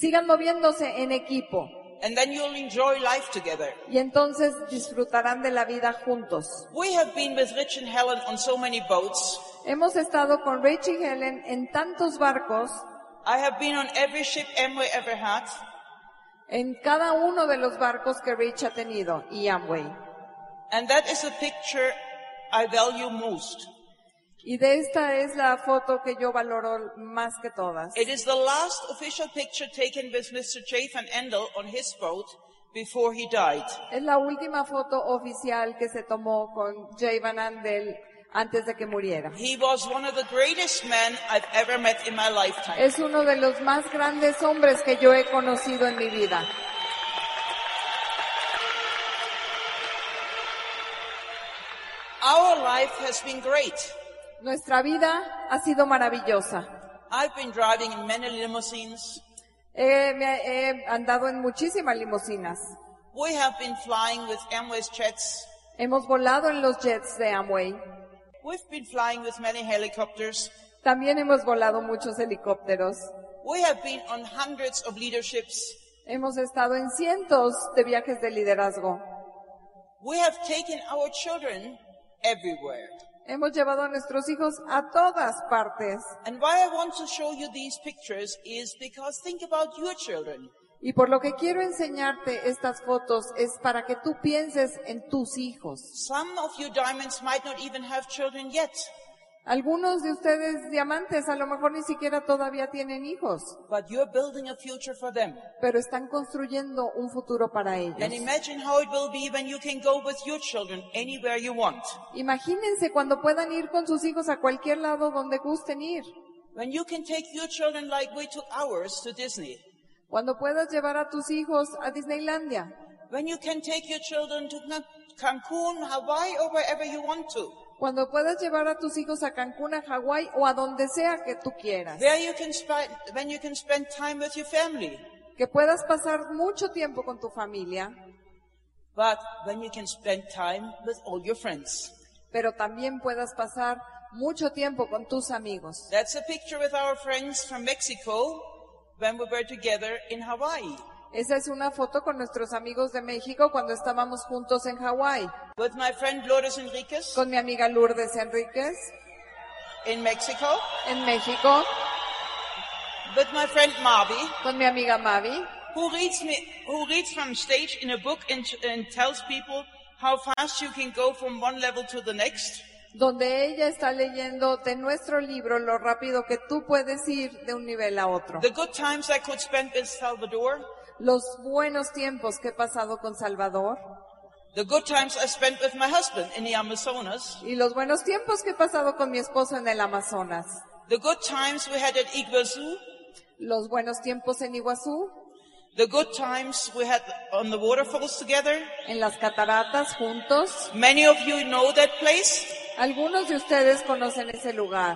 Sigan moviéndose en equipo. And then you'll enjoy life together. Y entonces disfrutarán de la vida juntos. We have been with Rich and Helen on so many boats. Hemos estado con Rich y Helen en tantos barcos, I have been on every ship Amway ever had. en cada uno de los barcos que Rich ha tenido y Amway. And that is a picture I value most. Y de esta es la foto que yo valoro más que todas. It is the last official picture taken with Mr. J. van Endel on his boat before he died. Es la última foto oficial que se tomó con Jay Van Andel antes de que muriera. He was one of the greatest men I've ever met in my lifetime. Es uno de los más grandes hombres que yo he conocido en mi vida. Our life has been great. Nuestra vida ha sido maravillosa. I've been driving in many limousines. He andado en muchísimas limusinas. We have been flying with Amway's jets. Hemos volado en los jets de Amway. We've been flying with many helicopters. También hemos volado muchos helicópteros. We have been on hundreds of leaderships. Hemos estado en cientos de viajes de liderazgo. We have taken our children everywhere. Hemos llevado a nuestros hijos a todas partes. And why I want to show you these pictures is because think about your children. Y por lo que quiero enseñarte estas fotos es para que tú pienses en tus hijos. Some of you diamonds might not even have children yet, Algunos de ustedes diamantes a lo mejor ni siquiera todavía tienen hijos, but you're building a future for them. pero están construyendo un futuro para ellos. And imagine how it will be when you can go with your children anywhere you want. Imagínense cuando puedan ir con sus hijos a cualquier lado donde gusten ir. When you can take your children like we took ours to Disney. Cuando puedas llevar a tus hijos a Disneylandia. When you can take your children to Cancun, Hawaii, or wherever you want to. Cuando puedas llevar a tus hijos a Cancún, a Hawái o a donde sea que tú quieras. When you can spend time with your family. Que puedas pasar mucho tiempo con tu familia. But when you can spend time with all your friends. Pero también puedas pasar mucho tiempo con tus amigos. That's a picture with our friends from Mexico when we were together in Hawaii. Esa es una foto con nuestros amigos de México cuando estábamos juntos en Hawái. With my friend Lourdes Enriquez Con mi amiga Lourdes Enríquez in Mexico. en México. With my friend Mavi, Con mi amiga Mavi, who reads from stage in a book and tells people how fast you can go from one level to the next. donde ella está leyendo de nuestro libro lo rápido que tú puedes ir de un nivel a otro. The good times I could spend with Salvador. Los buenos tiempos que he pasado con Salvador The good times I spent with my husband in the Amazonas. y los buenos tiempos que he pasado con mi esposo en el Amazonas. The good times we had at Iguazu. Los buenos tiempos en Iguazú, The good times we had on the waterfalls together. en las cataratas juntos. Many of you know that place. Algunos de ustedes conocen ese lugar.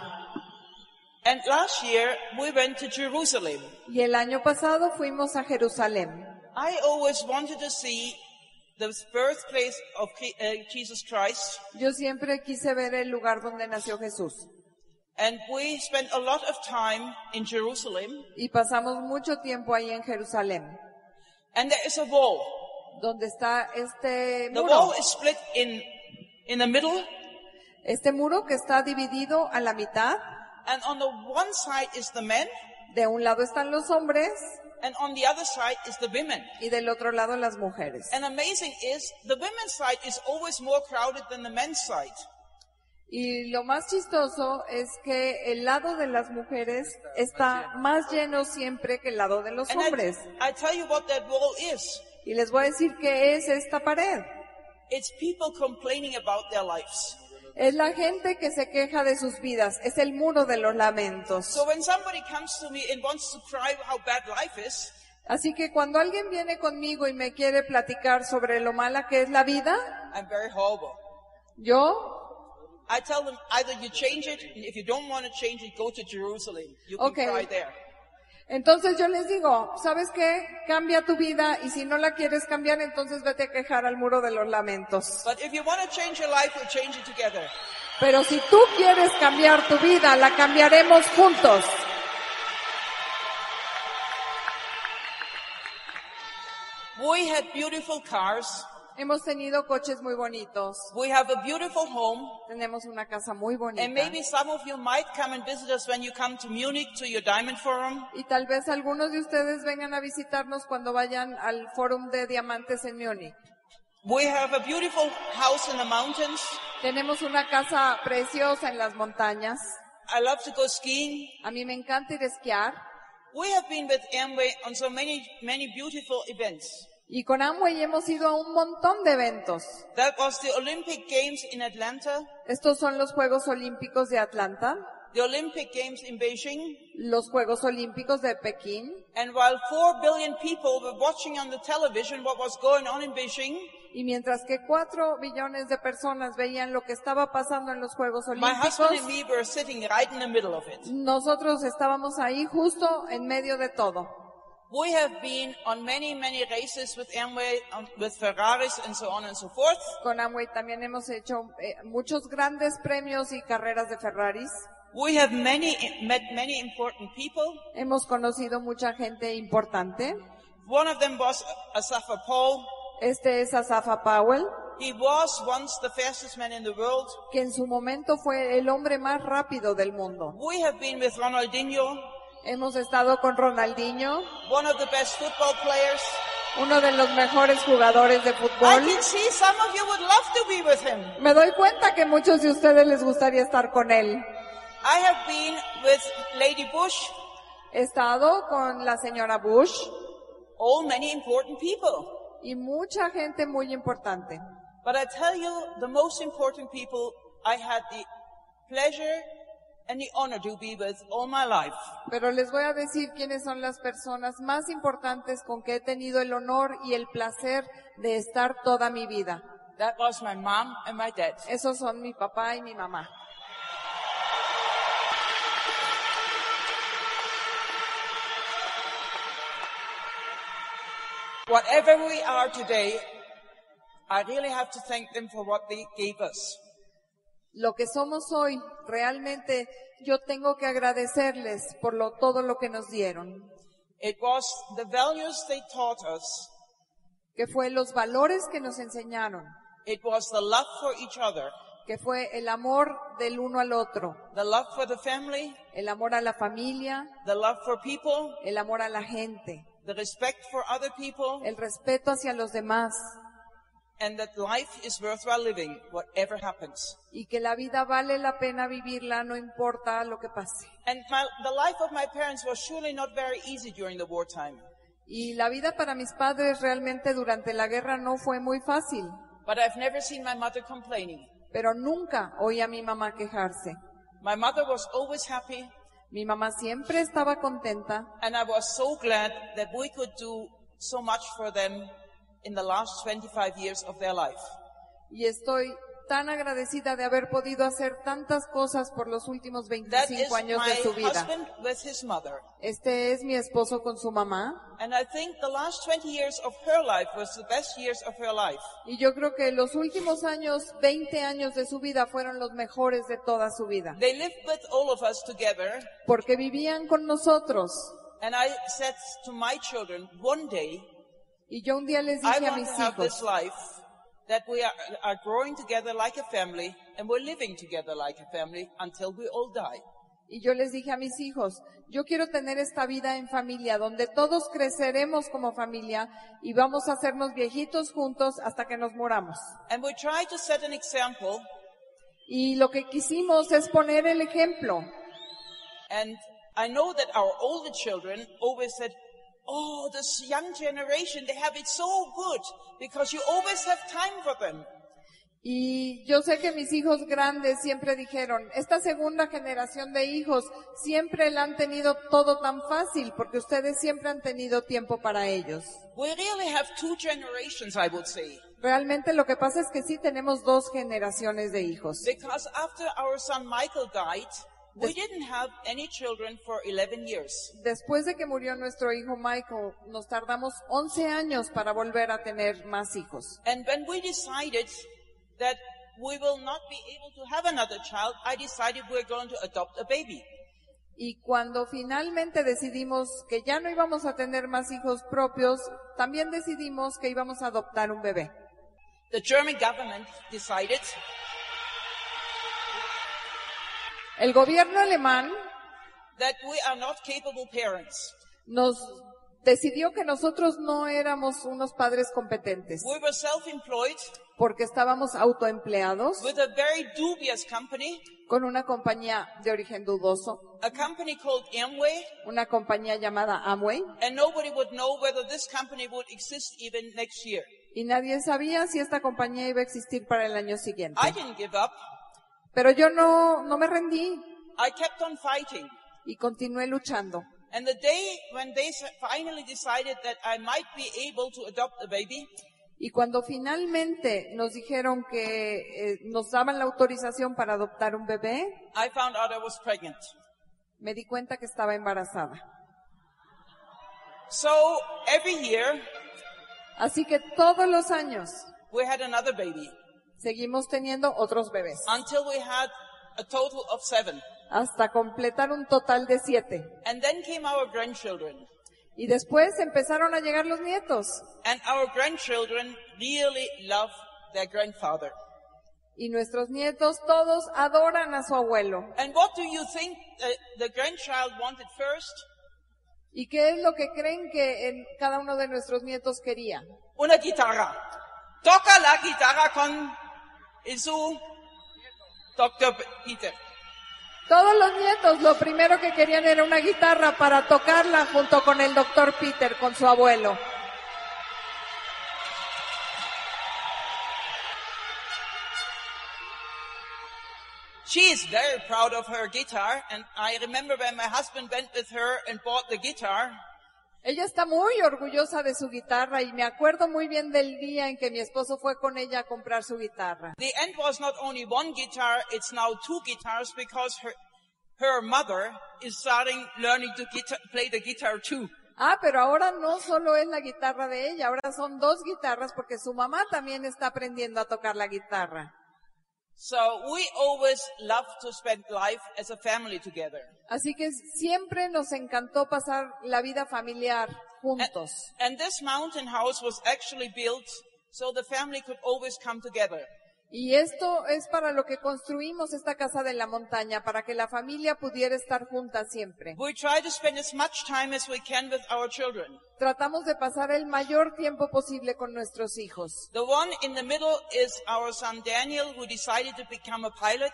And last year we went to Jerusalem. Y el año pasado fuimos a Jerusalén. I always wanted to see the birthplace of Jesus Christ. Yo siempre quise ver el lugar donde nació Jesús. And we spent a lot of time in Jerusalem. Y pasamos mucho tiempo ahí en Jerusalén, And there is a wall. donde está este The muro. wall is split in the middle. Este muro que está dividido a la mitad. And on the one side is the men. De un lado están los hombres And on the other side is the women. y del otro lado las mujeres. And amazing is the women's side is always more crowded than the men's side. Y lo más chistoso es que el lado de las mujeres está más lleno siempre que el lado de los And hombres. I tell you what that wall is. Y les voy a decir qué es esta pared. It's people complaining about their lives. Es la gente que se queja de sus vidas. Es el muro de los lamentos. So when somebody comes to me and wants to cry how bad life is, Así que cuando alguien viene conmigo y me quiere platicar sobre lo mala que es la vida, I'm very horrible. I tell them either you change it, and if you don't want to change it, go to Jerusalem. You can Okay. cry there. entonces yo les digo, ¿sabes qué? Cambia tu vida y si no la quieres cambiar, entonces vete a quejar al muro de los lamentos. But if you want to change your life, we'll change it together. Pero si tú quieres cambiar tu vida, la cambiaremos juntos. We had beautiful cars. Hemos tenido coches muy bonitos. We have a beautiful home. Tenemos una casa muy bonita. And maybe some of you might come and visit us when you come to Munich to your Diamond Forum. Y tal vez algunos de ustedes vengan a visitarnos cuando vayan al Fórum de Diamantes en Múnich. We have a beautiful house in the mountains. Tenemos una casa preciosa en las montañas. I love to go skiing. A mí me encanta ir a esquiar. We have been with Amway on so many beautiful events. Y con Amway hemos ido a un montón de eventos. That was the Olympic Games in Atlanta, Estos son los Juegos Olímpicos de Atlanta, the Olympic Games in Beijing, los Juegos Olímpicos de Pekín. and while 4 billion people were watching on the television what was going on in Beijing, Y mientras que 4 billones de personas veían lo que estaba pasando en los Juegos my husband Olímpicos, and me were sitting right in the middle of it. nosotros estábamos ahí justo en medio de todo. We have been on many races with Amway, with Ferraris and so on and so forth. Con Amway también hemos hecho muchos grandes premios y carreras de Ferraris. We have met many important people. Hemos conocido mucha gente importante. One of them was Asafa Paul. Este es Asafa Powell, He was once the fastest man in the world. que en su momento fue el hombre más rápido del mundo. We have been with Ronaldinho, Hemos estado con Ronaldinho, one of the best football players. uno de los mejores jugadores de I fútbol. can see some of you would love to be with him. Me doy cuenta que muchos de ustedes les gustaría estar con él. I have been with Lady Bush, He estado con la señora Bush all many important people. y mucha gente muy importante. But I tell you, the most important people I had the pleasure and the honor to be with all my life. Pero les voy a decir quiénes son las personas más importantes con que he tenido el honor y el placer de estar toda mi vida. That was my mom and my dad. Esos son mi papá y mi mamá. Whatever we are today, I really have to thank them for what they gave us. Lo que somos hoy, realmente yo tengo que agradecerles por todo lo que nos dieron, It was the values they taught us. que fue los valores que nos enseñaron, It was the love for each other, que fue el amor del uno al otro, the love for the family, el amor a la familia, the love for people, el amor a la gente, the respect for other people, el respeto hacia los demás and that life is worthwhile living, whatever happens. y que la vida vale la pena vivirla no importa lo que pase. And the life of my parents was surely not very easy during the wartime. Y la vida para mis padres realmente durante la guerra no fue muy fácil, But I've never seen my mother complaining. pero nunca oí a mi mamá quejarse. My mother was always happy, Mi mamá siempre estaba contenta and I was so glad that we could do so much for them in the last 25 years of their life. y estoy tan agradecida de haber podido hacer tantas cosas por los últimos That is 25 años my de su vida. husband with his mother. Este es mi esposo con su mamá And I think the last 20 years of her life was the best years of her life. y yo creo que los últimos años, 20 años de su vida fueron los mejores de toda su vida, They lived with all of us together, porque vivían con nosotros. and I said to my children, one day, Y yo un día les I dije a want mis to have this hijos, life that we are growing together like a family, and we're living together like a family until we all die. y yo les dije a mis hijos, yo quiero tener esta vida en familia, donde todos creceremos como familia y vamos a hacernos viejitos juntos hasta que nos muramos. And we try to set an example, Y lo que quisimos es poner el ejemplo. and I know that our older children always said, oh, this young generation, they have it so good because you always have time for them. Y yo sé que mis hijos grandes siempre dijeron, esta segunda generación de hijos siempre la han tenido todo tan fácil porque ustedes siempre han tenido tiempo para ellos. We really have two generations, I would say. Realmente lo que pasa es que sí tenemos 2 generaciones de hijos. Because after our son Michael died, we didn't have any children for 11 years. Después de que murió nuestro hijo Michael, nos tardamos 11 años para volver a tener más hijos. And when we decided that we will not be able to have another child, I decided we're going to adopt a baby. Y cuando finalmente decidimos que ya no íbamos a tener más hijos propios, también decidimos que íbamos a adoptar un bebé. The German government decided El gobierno alemán that we are not capable parents. nos decidió que nosotros no éramos unos padres competentes We were self-employed porque estábamos autoempleados with a very dubious company, con una compañía de origen dudoso, a company called Amway, una compañía llamada Amway, and nobody would know whether this company would exist even next year. y nadie sabía si esta compañía iba a existir para el año siguiente. I didn't give up. Pero yo no me rendí I kept on fighting. y continué luchando. And the day when they finally decided that I might be able to adopt a baby, Y cuando finalmente nos dijeron que nos daban la autorización para adoptar un bebé, I found out I was pregnant. me di cuenta que estaba embarazada. So every year Así que todos los años we had another baby seguimos teniendo otros bebés, until we had a total of 7. hasta completar un total de 7. And then came our grandchildren. Y después empezaron a llegar los nietos. And our grandchildren really love their grandfather. Y nuestros nietos todos adoran a su abuelo. And what do you think the grandchild wanted first? ¿Y qué es lo que creen que cada uno de nuestros nietos quería? Una guitarra. Toca la guitarra con su Dr. Peter. Todos los nietos lo primero que querían era una guitarra para tocarla junto con el Dr. Peter, con su abuelo. She is very proud of her guitar, and I remember when my husband went with her and bought the guitar, Ella está muy orgullosa de su guitarra y me acuerdo muy bien del día en que mi esposo fue con ella a comprar su guitarra. the end was not only one guitar, it's now 2 guitars because her mother is starting learning to play the guitar too. Ah, pero ahora no solo es la guitarra de ella, ahora son 2 guitarras porque su mamá también está aprendiendo a tocar la guitarra. So we always love to spend life as a family together. Así que siempre nos encantó pasar la vida familiar juntos. And this mountain house was actually built so the family could always come together. Y esto es para lo que construimos esta casa de la montaña, para que la familia pudiera estar junta siempre. We try to spend as much time as we can with our children. Tratamos de pasar el mayor tiempo posible con nuestros hijos. The one in the middle is our son Daniel, who decided to become a pilot.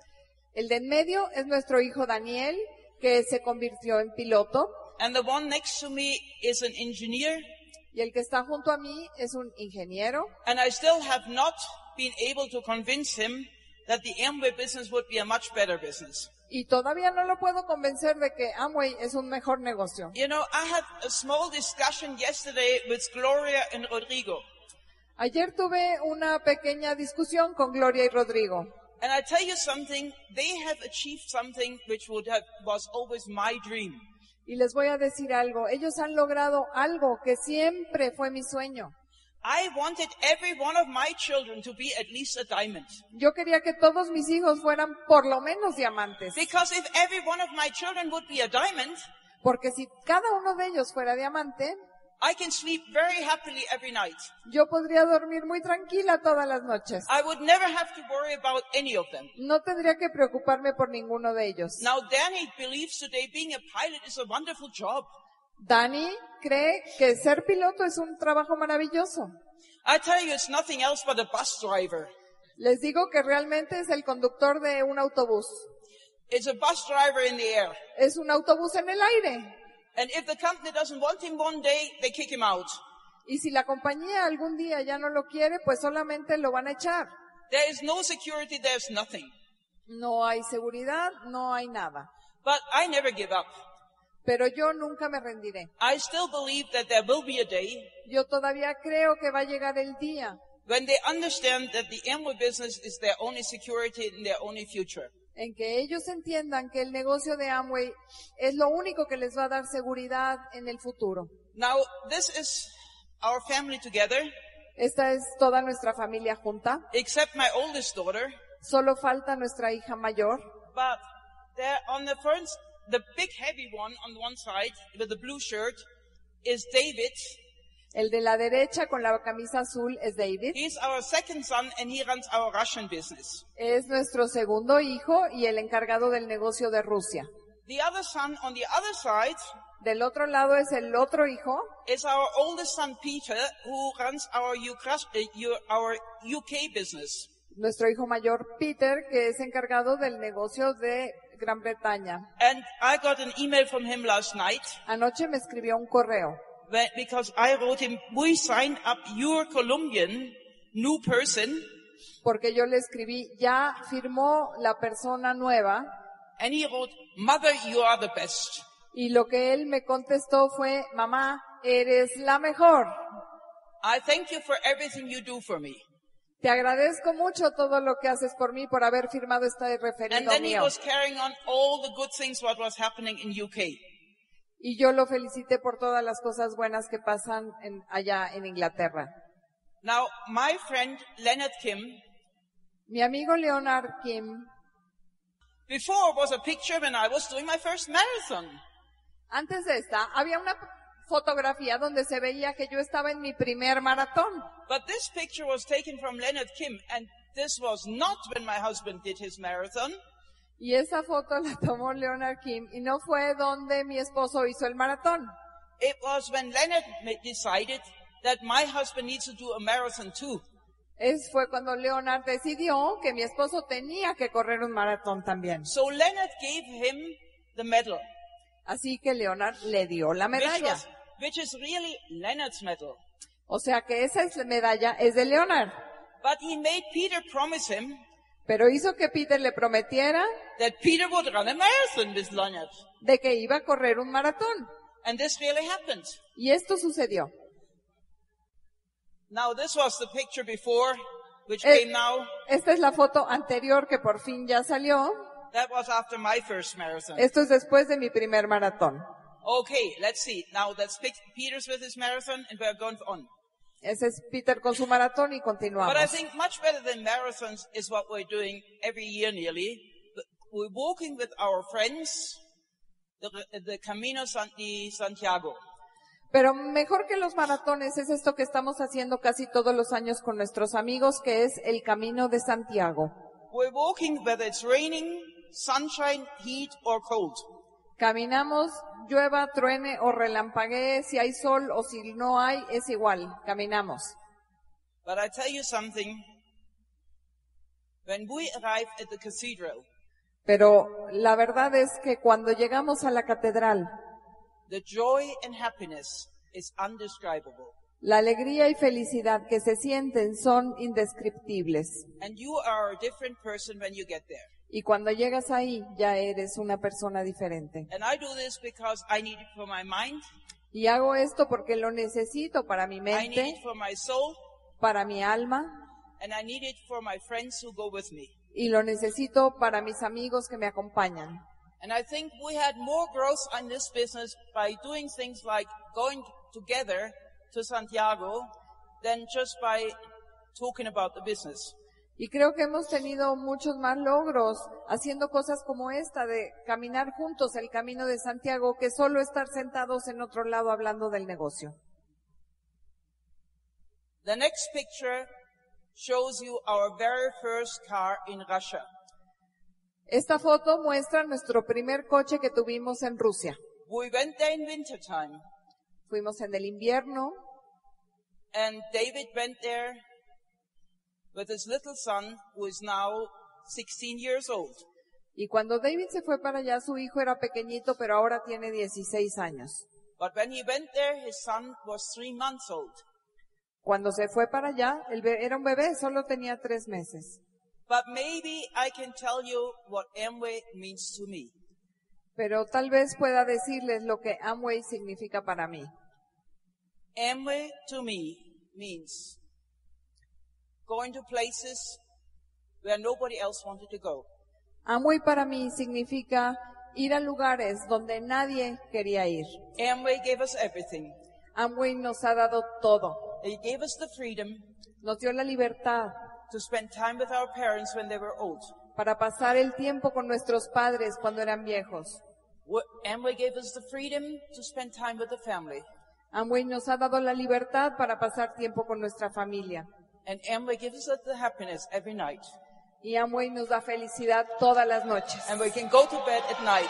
El de en medio es nuestro hijo Daniel, que se convirtió en piloto. And the one next to me is an engineer. Y el que está junto a mí es un ingeniero. And I still have not been able to convince him that the Amway business would be a much better business. Y todavía no lo puedo convencer de que Amway es un mejor negocio. You know, I had a small discussion yesterday with Gloria and Rodrigo. Ayer tuve una pequeña discusión con Gloria y Rodrigo. And I tell you something, they have achieved something which was always my dream. Y les voy a decir algo. Ellos han logrado algo que siempre fue mi sueño. I wanted every one of my children to be at least a diamond. Yo quería que todos mis hijos fueran por lo menos diamantes. Because if every one of my children would be a diamond, Porque si cada uno de ellos fuera diamante, I can sleep very happily every night. yo podría dormir muy tranquila todas las noches. I would never have to worry about any of them. No tendría que preocuparme por ninguno de ellos. Now, Danny believes today being a pilot is a wonderful job. Dani cree que ser piloto es un trabajo maravilloso. I tell you, it's nothing else but a bus driver. Les digo que realmente es el conductor de un autobús. It's a bus driver in the air. Es un autobús en el aire. And if the company doesn't want him one day, they kick him out. Y si la compañía algún día ya no lo quiere, pues solamente lo van a echar. There is no security, there's nothing. No hay seguridad, no hay nada. But I never give up. Pero yo nunca me rendiré. I still believe that there will be a day Yo todavía creo que va a llegar el día when they understand that the Amway business is their only security and their only future. en que ellos entiendan que el negocio de Amway es lo único que les va a dar seguridad en el futuro. Now, this is our family together, Esta es toda nuestra familia junta. except my oldest daughter. Solo falta nuestra hija mayor. But there, on the the big heavy one on one side with the blue shirt is David. El de la derecha con la camisa azul es David. He's our second son and he runs our Russian business. Es nuestro segundo hijo y el encargado del negocio de Rusia. The other son on the other side Del otro lado es el otro hijo, is our oldest son Peter, who runs our UK business. nuestro hijo mayor Peter, que es encargado del negocio de Gran Bretaña. And I got an email from him last night Anoche me escribió un correo because I wrote him, we signed up your Colombian new person. porque yo le escribí, ya firmó la persona nueva, And he wrote, Mother, you are the best. y lo que él me contestó fue, mamá, eres la mejor. I thank you for everything you do for me. Te agradezco mucho todo lo que haces por mí por haber firmado este And referido then he mío. was carrying on all the good things what was happening in UK. Y yo lo felicité por todas las cosas buenas que pasan allá en Inglaterra. Now, my friend Leonard Kim, Mi amigo Leonard Kim, before was a picture when I was doing my first marathon. antes de esta, había una fotografía donde se veía que yo estaba en mi primer maratón. But this picture was taken from Leonard Kim, and this was not when my husband did his marathon. Y esa foto la tomó Leonard Kim y no fue donde mi esposo hizo el maratón. It was when Leonard decided that my husband needs to do a marathon too. Fue cuando Leonard decidió que mi esposo tenía que correr un maratón también. So Leonard gave him the medal, Así que Leonard le dio la medalla. which is really Leonard's medal. O sea que esa medalla es de Leonard. But he made Peter promise him Pero hizo que Peter le prometiera that Peter would run a marathon with Leonard. de que iba a correr un maratón. And this really happened. Y esto sucedió. Now this was the picture before, which Eh, came now. Esta es la foto anterior que por fin ya salió. That was after my first marathon. Esto es después de mi primer maratón. Okay, let's see. Now that's Peter's with his marathon and we're going on. Ese es Peter con su maratón y continuamos. But I think much better than marathons is what we're doing every year nearly. We're walking with our friends, the Camino de Santiago. Pero mejor que los maratones es esto que estamos haciendo casi todos los años con nuestros amigos, que es el Camino de Santiago. We're walking whether it's raining, sunshine, heat or cold. Caminamos, llueva, truene o relampaguee, si hay sol o si no hay, es igual, caminamos. But I tell you something, when we arrive at the cathedral, Pero la verdad es que cuando llegamos a la catedral, the joy and happiness is undescribable. la alegría y felicidad que se sienten son indescriptibles. And you are a different person when you get there. Y cuando llegas ahí, ya eres una persona diferente. And I do this because I need it for my mind, Y hago esto porque lo necesito para mi I need mente, it for my soul, para mi alma, and I need it for my friends who go with me. y lo necesito para mis amigos que me acompañan. And I think we had more growth in this business by doing things like going together to Santiago than just by talking about the business. Y creo que hemos tenido muchos más logros haciendo cosas como esta de caminar juntos el camino de Santiago que solo estar sentados en otro lado hablando del negocio. The next picture shows you our very first car in Russia. Esta foto muestra nuestro primer coche que tuvimos en Rusia. We went there in wintertime, Fuimos en el invierno and David went there with his little son, who is now 16 years old. y cuando David se fue para allá, su hijo era pequeñito, pero ahora tiene 16 años. But when he went there, his son was 3 months old. Cuando se fue para allá, era un bebé, solo tenía 3 meses. But maybe I can tell you what Amway means to me. Pero tal vez pueda decirles lo que Amway significa para mí. Amway to me means going to places where nobody else wanted to go. Amway para mí significa ir a lugares donde nadie quería ir. Amway gave us everything. Amway nos ha dado todo. It gave us the freedom Nos dio la libertad to spend time with our parents when they were old. para pasar el tiempo con nuestros padres cuando eran viejos. Amway gave us the freedom to spend time with the family. Amway nos ha dado la libertad para pasar tiempo con nuestra familia. And Amway gives us the happiness every night. Y Amway nos da felicidad todas las noches. And we can go to bed at night.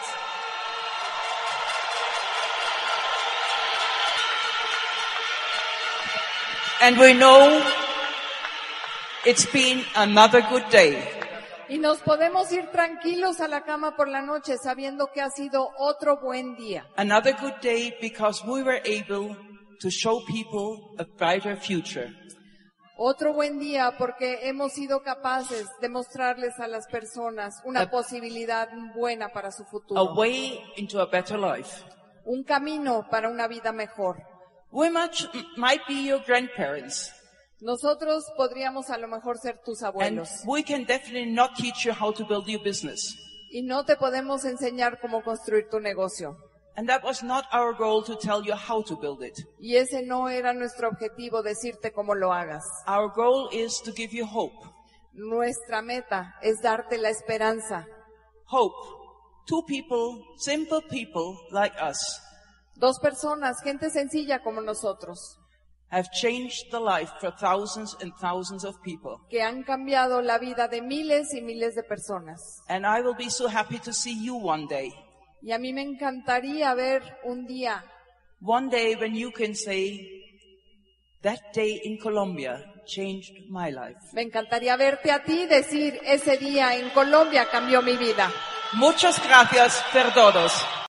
And we know it's been another good day. Y nos podemos ir tranquilos a la cama por la noche sabiendo que ha sido otro buen día. Another good day because we were able to show people a brighter future. Otro buen día porque hemos sido capaces de mostrarles a las personas una posibilidad buena para su A futuro. way into a better life. Un camino para una vida mejor. We might be your grandparents. Nosotros podríamos a lo mejor ser tus And abuelos. we can definitely not teach you how to build your business. Y no te podemos enseñar cómo construir tu negocio. And that was not our goal to tell you how to build it. Y ese no era nuestro objetivo, decirte cómo lo hagas. Our goal is to give you hope. Nuestra meta es darte la esperanza. Hope. Two people, simple people like us, Dos personas, gente sencilla como nosotros, have changed the life for thousands and thousands of people. que han cambiado la vida de miles y miles de personas. And I will be so happy to see you one day. Y a mí me encantaría ver un día, One day when you can say, that day in Colombia changed my life. me encantaría verte a ti decir, ese día en Colombia cambió mi vida. Muchas gracias por todos.